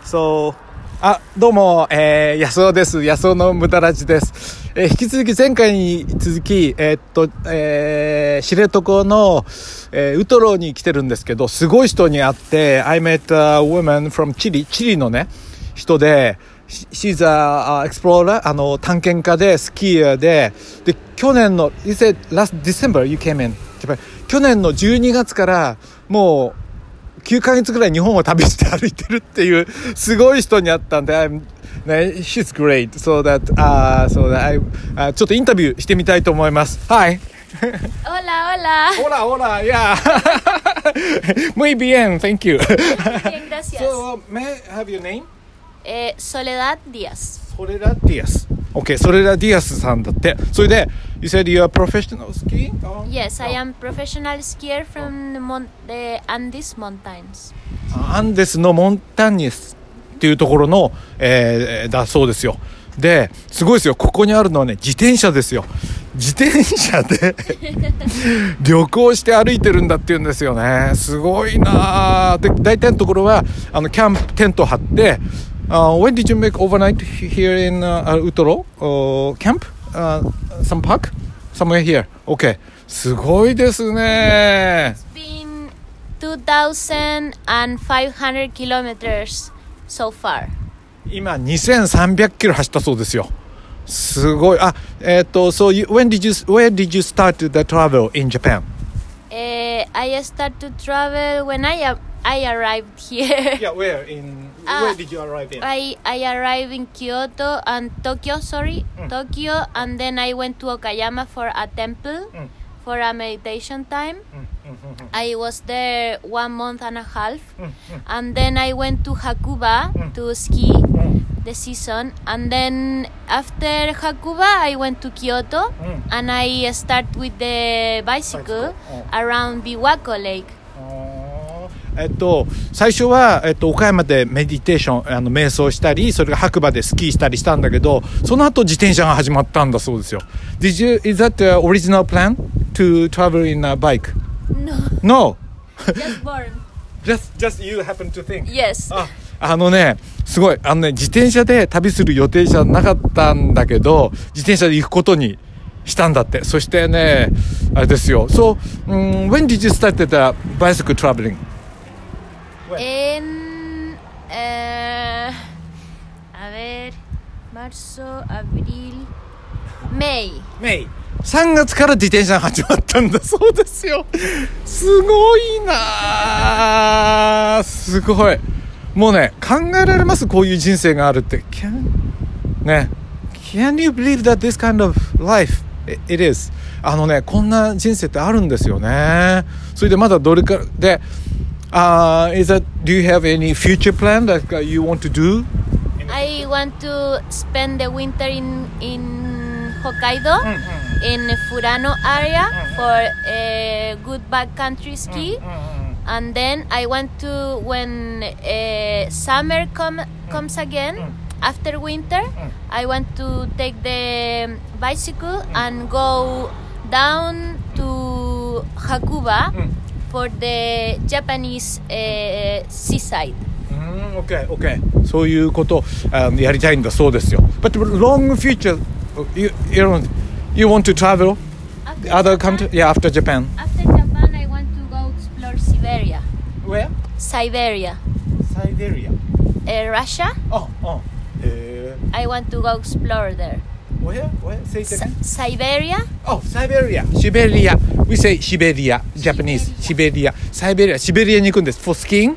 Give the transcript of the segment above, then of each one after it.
So, どうも、安尾です。安尾の無駄ラジです。引き続き前回に続き、知床の、ウトロに来てるんですけど、すごい人に会って、I met a woman from チリのね、人で、She's a explorer, 探検家で、スキーヤーで、去年の、You said last December you came in Japan. 去年の12月から、もう、9ヶ月ぐらい日本を旅して歩いてるっていうすごい人に会ったんで、she's great. So that I ちょっとインタビューしてみたいと思います。Hi. Hola. Yeah. Muy bien. Thank you. Bien, gracias. So, may I have your name? Soledad Díaz. Soledad Díaz.Okay, Soledad Díaz さんだって。それで、You said you are professional skiing? Yes, I am professional skier from the Andes Mountains. アンデスのモンタニスっていうところの、だそうですよ。で、すごいですよ。ここにあるのはね、自転車ですよ。自転車で旅行して歩いてるんだっていうんですよね。すごいな。で、大体のところはキャンプテント張って。When did you make overnight here in Utoro? Camp? Some park? Somewhere here. Okay. すごいですね。 It's been 2,500 kilometers so far. 今2300キロ走ったそうですよ。すごい。So where did you start the travel in Japan? I started to travel when I arrived here. Yeah, where did you arrive in? I arrived in Tokyo, and then I went to Okayama for a temple, for a meditation time. I was there 1 month and a half, and then I went to Hakuba to ski the season, and then after Hakuba I went to Kyoto, and I started with the bicycle around Biwako Lake. 最初は、岡山でメディテーション瞑想したり、それが白馬でスキーしたりしたんだけど、その後自転車が始まったんだそうですよ。Is that the original plan to travel in a bike? No. Just born. Just you happen to think? Yes. すごい自転車で旅する予定じゃなかったんだけど、自転車で行くことにしたんだって。そしてね、あれですよ。So, when did you start the bicycle traveling? En marzo, abril, May 3月から自転車が始まったんだそうですよ。すごいな。すごい。もうね、考えられます？こういう人生があるって。Can you believe that this kind of life it is? こんな人生ってあるんですよね。それでまだどれかでdo you have any future plan that you want to do? I want to spend the winter in Hokkaido, in Furano area for a good backcountry ski. And then I want to, when summer comes again, after winter, I want to take the bicycle and go down to Hakuba.For the Japanese seaside. Okay. そういうことやりたいんだそうですよ。But long future, you want to travel other country? Yeah, after Japan. After Japan, I want to go explore Siberia. Where? Siberia. Russia. I want to go explore there.Where? Say it again. Siberia. Siberia. We say Siberia. Japanese. Siberia. Siberia に行くんです。For skiing?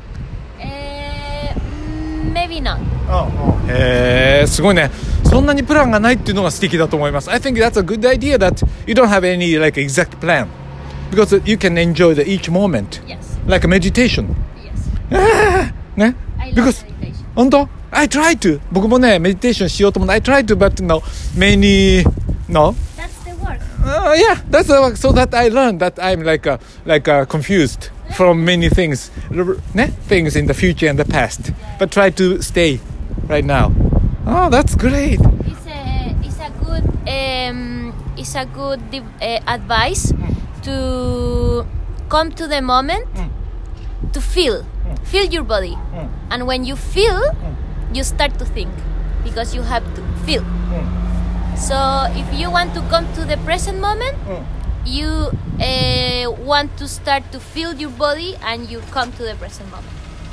Maybe not. すごいね。そんなにプランがないっていうのが素敵だと思います。I think that's a good idea that you don't have any like exact plan because you can enjoy each moment. Yes. Like a meditation. Yes. ね。 I love meditation. 本当？I try to. 僕もね、メディテーションしようと思って、I try to, but many, no? That's the work. Yeah, that's the work. So that I learned that I'm like confused from many things, things in the future and the past. But try to stay right now. Oh, that's great. It's a good advice to come to the moment, to feel feel your body. And when you feel, you start to think because you have to feel. So if you want to come to the present moment, you want to start to feel your body and you come to the present moment.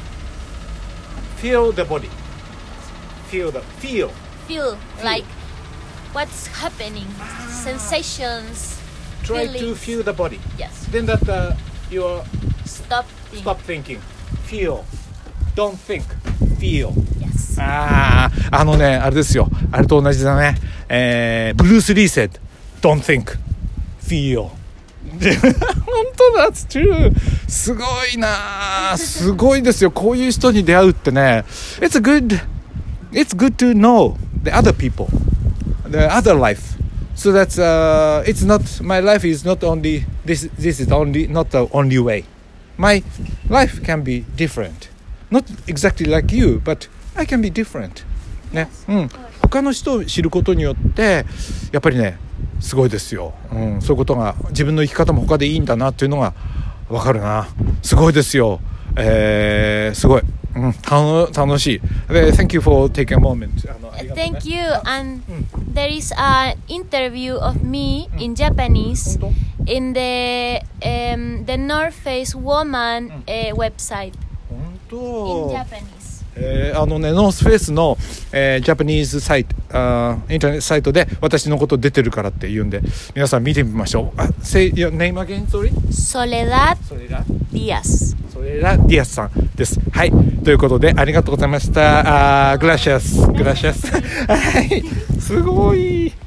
Feel the body. Feel. Like what's happening, sensations. Try feelings. to feel the body. Yes. Then that you Stop thinking. Feel. Don't think. Feel. Yes. あれですよ。あれと同じだね。ブルース・リー said, don't think, feel. 本当だ、that's true. すごいな、すごいですよ。こういう人に出会うってね。It's good to know the other people, the other life. So that's it's not, my life is not only this is only not the only way. My life can be different. Not exactly like you, but I can be different. ね、他の人を知ることによってやっぱりね、すごいですよ。そういうことが、自分の生き方も他でいいんだなっていうのがわかるな。すごいですよ。すごい。楽しい。Thank you for taking a moment. Thank you. And there is an interview of me in Japanese in the North Face Woman website. 本当。 In Japanese. ノースフェイスの、ジャパニーズサイト、インターネットサイトで私のこと出てるからって言うんで、皆さん見てみましょう。Say your name again, sorry? Soledad Díaz. ソレダ・ディアスさんです。はい。ということで、ありがとうございました。グラシアス。はい。すごい。